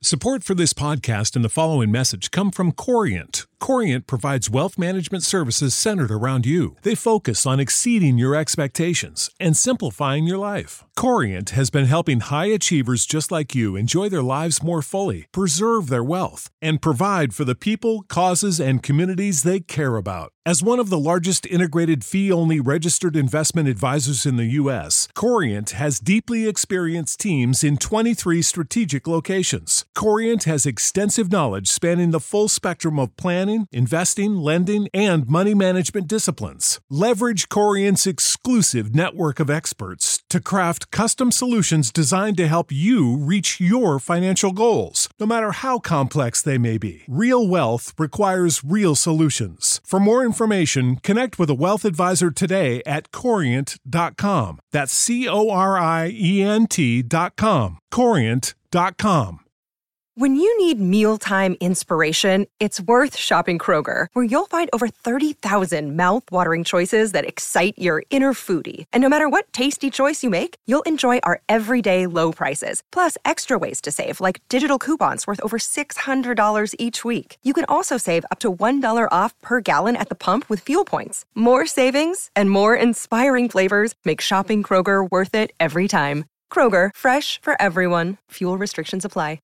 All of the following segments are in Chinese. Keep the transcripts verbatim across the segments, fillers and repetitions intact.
Support for this podcast and the following message come from Corient. Corient provides wealth management services centered around you. They focus on exceeding your expectations and simplifying your life. Corient has been helping high achievers just like you enjoy their lives more fully, preserve their wealth, and provide for the people, causes, and communities they care about. As one of the largest integrated fee-only registered investment advisors in the U S, Corient has deeply experienced teams in twenty-three strategic locations. Corient has extensive knowledge spanning the full spectrum of planning, investing, lending, and money management disciplines. Leverage Corient's exclusive network of experts to craft custom solutions designed to help you reach your financial goals, no matter how complex they may be. Real wealth requires real solutions. For more information, connect with a wealth advisor today at corient dot com. That's C O R I E N T dot com. corient dot com. When you need mealtime inspiration, it's worth shopping Kroger, where you'll find over thirty thousand mouth-watering choices that excite your inner foodie. And no matter what tasty choice you make, you'll enjoy our everyday low prices, plus extra ways to save, like digital coupons worth over six hundred dollars each week. You can also save up to one dollar off per gallon at the pump with fuel points. More savings and more inspiring flavors make shopping Kroger worth it every time. Kroger, fresh for everyone. Fuel restrictions apply.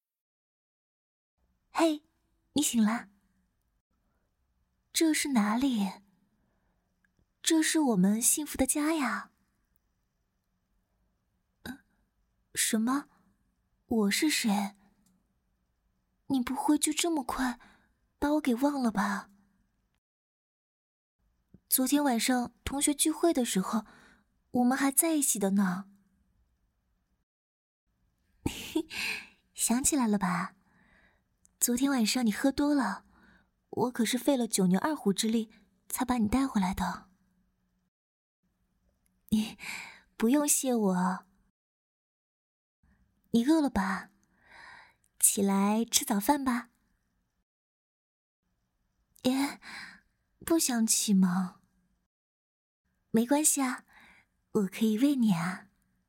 嘿，你醒啦？这是哪里？这是我们幸福的家呀。呃，什么？我是谁？你不会就这么快把我给忘了吧？昨天晚上同学聚会的时候，我們還在一起的呢。想起來了吧？昨天晚上你喝多了，我可是費了九牛二虎之力才把你帶回來的。你不用謝我。你餓了吧？起來吃早飯吧。耶，不想起嗎？沒關係啊，我可以餵你啊。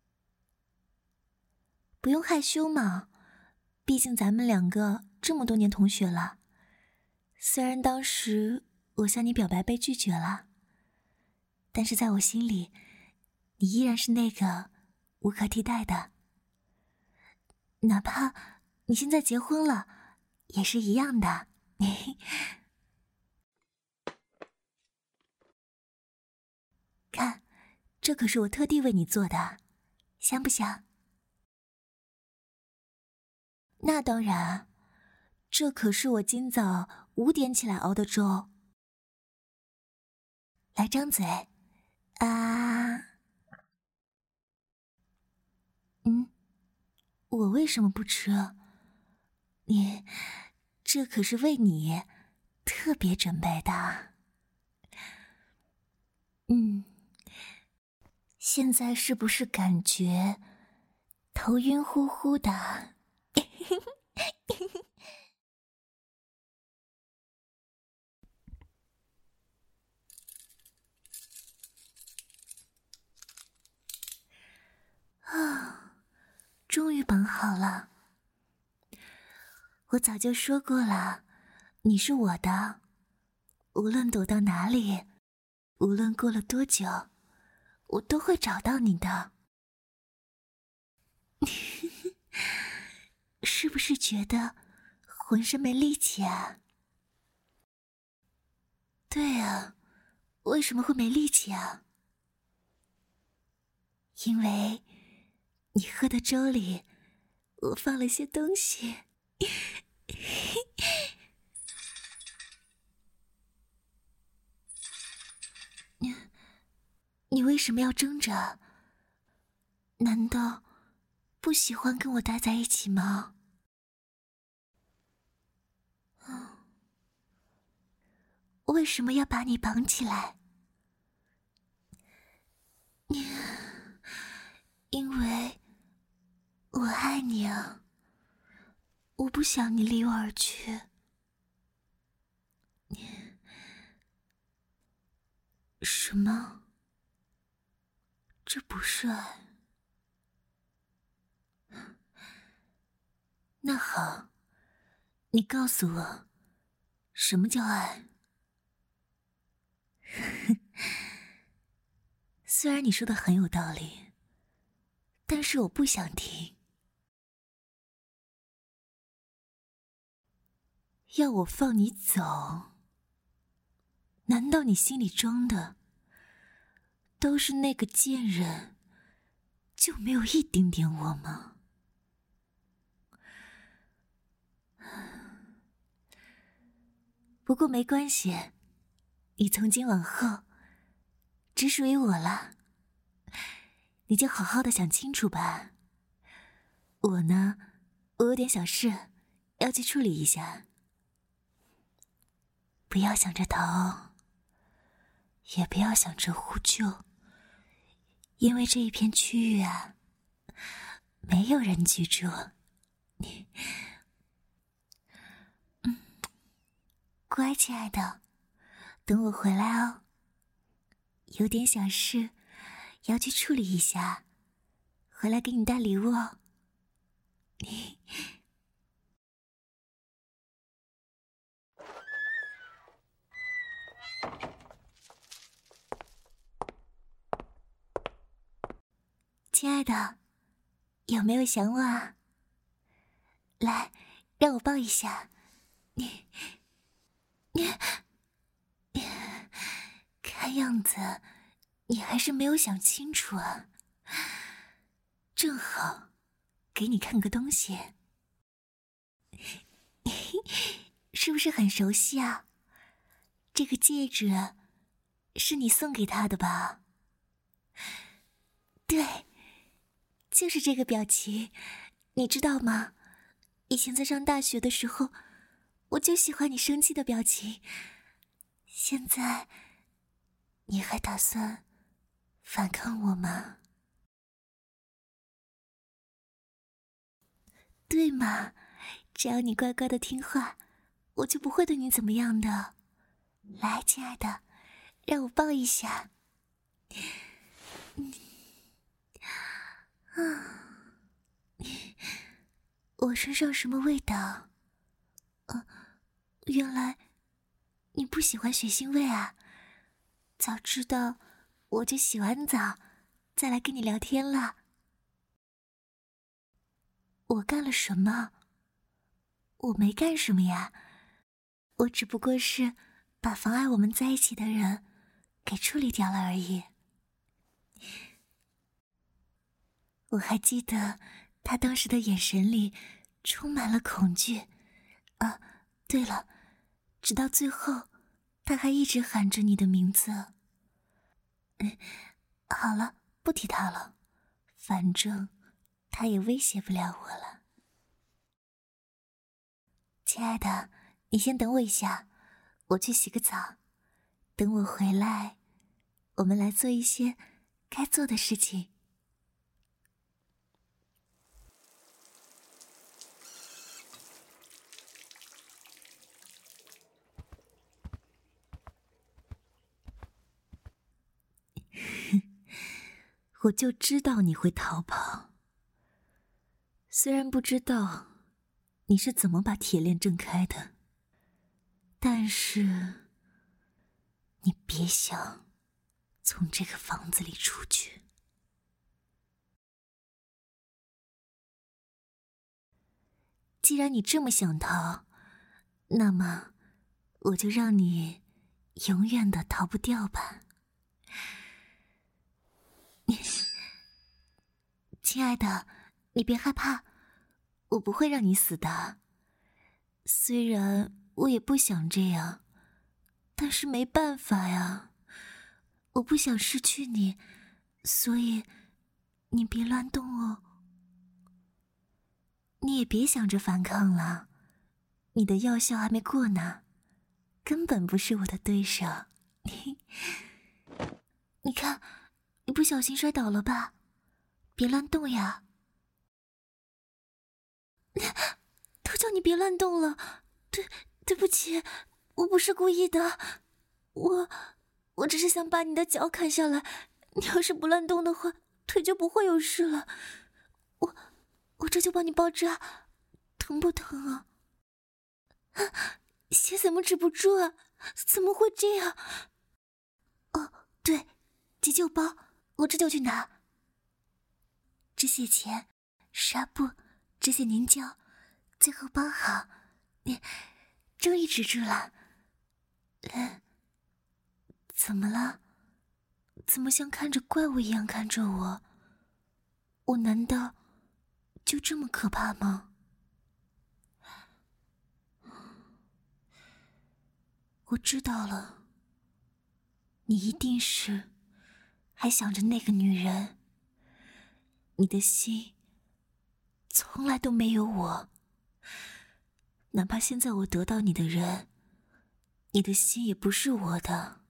不用害羞嘛，畢竟咱們兩個這麼多年同學了，雖然當時我向你表白被拒絕了，但是在我心裡，你依然是那個無可替代的。哪怕你現在結婚了，也是一樣的。看，這可是我特地為你做的，香不香？那當然。這可是我今早五點起來熬的粥。來張嘴，啊！嗯，我為什麼不吃？你，這可是為你特別準備的。嗯，現在是不是感覺頭暈乎乎的？啊，終於綁好了。我早就說過了，你是我的，無論躲到哪裡，無論過了多久，我都會找到你的。是不是覺得渾身沒力氣啊？對啊，為什麼會沒力氣啊？因為你喝的粥裡，我放了些東西。你，你為什麼要掙扎？難道不喜歡跟我待在一起嗎？為什麼要把你綁起來？你，因為我愛你啊，我不想你離我而去。你，什麼？這不是愛。那好， 你告訴我，什麼叫愛？雖然你說的很有道理，但是我不想聽。要我放你走？難道你心裡裝的都是那個賤人，就沒有一丁點我嗎？不過沒關係，你從今往後只屬於我了，你就好好的想清楚吧。我呢，我有點小事要去處理一下，不要想着逃，也不要想着呼救，因為這一片區域啊，沒有人居住。你乖，親愛的，等我回來哦。有點小事要去處理一下，回來給你帶禮物哦。親愛的，有沒有想我啊？來，讓我抱一下你。你，你，看樣子你還是沒有想清楚啊。正好給你看個東西，是不是很熟悉啊？這個戒指是你送給他的吧？對，就是這個表情，你知道嗎？以前在上大學的時候，我就喜歡你生氣的表情。現在，你還打算反抗我嗎？對嘛，只要你乖乖的聽話，我就不會對你怎麼樣的。來，親愛的，讓我抱一下。嗯，啊，我身上什麼味道？啊，原來你不喜歡血腥味啊！早知道我就洗完澡再來跟你聊天了。我幹了什麼？我沒幹什麼呀，我只不過是把妨礙我們在一起的人給處理掉了而已。我還記得他當時的眼神裡充滿了恐懼。啊，對了，直到最後他還一直喊着你的名字。嗯，好了，不提他了，反正他也威脅不了我了。親愛的，你先等我一下，我去洗個澡。等我回來，我們來做一些該做的事情。我就知道你会逃跑。虽然不知道你是怎麼把鐵鏈掙開的，但是你別想從這個房子裡出去。既然你這麼想逃，那麼我就讓你永遠的逃不掉吧。親愛的，你別害怕，我不會讓你死的。雖然我也不想這樣，但是沒辦法呀，我不想失去你，所以你別亂動哦。你也別想着反抗了，你的藥效還沒過呢，根本不是我的對手。你看，你不小心摔倒了吧？別亂動呀！都叫你別亂動了，對，對不起，我不是故意的，我，我只是想把你的腳砍下來，你要是不亂動的話，腿就不會有事了。我，我這就幫你包紮，疼不疼啊？ 血怎麼止不住啊？怎麼會這樣？哦，对，急救包，我這就去拿。止血鉗、纱布、止血凝胶，最後包好，你終於止住了。嗯，怎麼了？怎麼像看着怪物一樣看着我？我難道就這麼可怕嗎？我知道了，你一定是還想着那個女人。你的心從來都沒有我，哪怕現在我得到你的人，你的心也不是我的。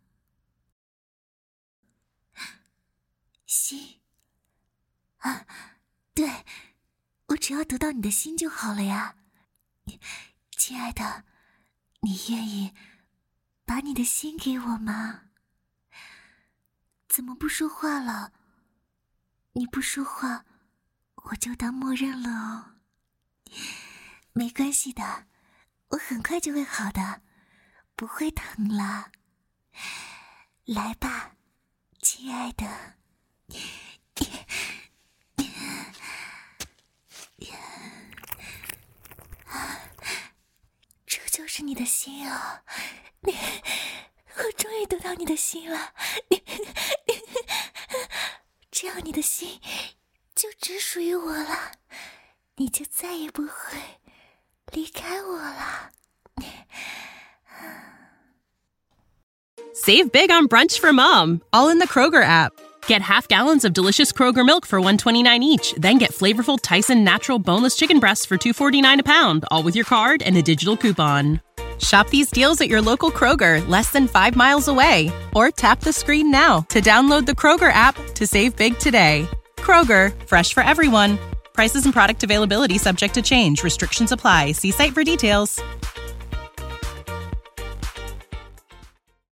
心啊，對，我只要得到你的心就好了呀。親愛的，你願意把你的心給我嗎？怎麼不說話了？你不說話，我就當默認了哦。沒關係的，我很快就會好的，不會疼了。來吧，親愛的。這就是你的心啊！我終於得到你的心了。这樣你的心就只屬於我了，你就再也不會離開我了。 Save big on brunch for mom, all in the Kroger app. Get half gallons of delicious Kroger milk for one twenty-nine each, then get flavorful Tyson natural boneless chicken breasts for two forty-nine a pound, all with your card and a digital coupon. Shop these deals at your local Kroger, less than five miles away. Or tap the screen now to download the Kroger app to save big today. Kroger, fresh for everyone. Prices and product availability subject to change. Restrictions apply. See site for details.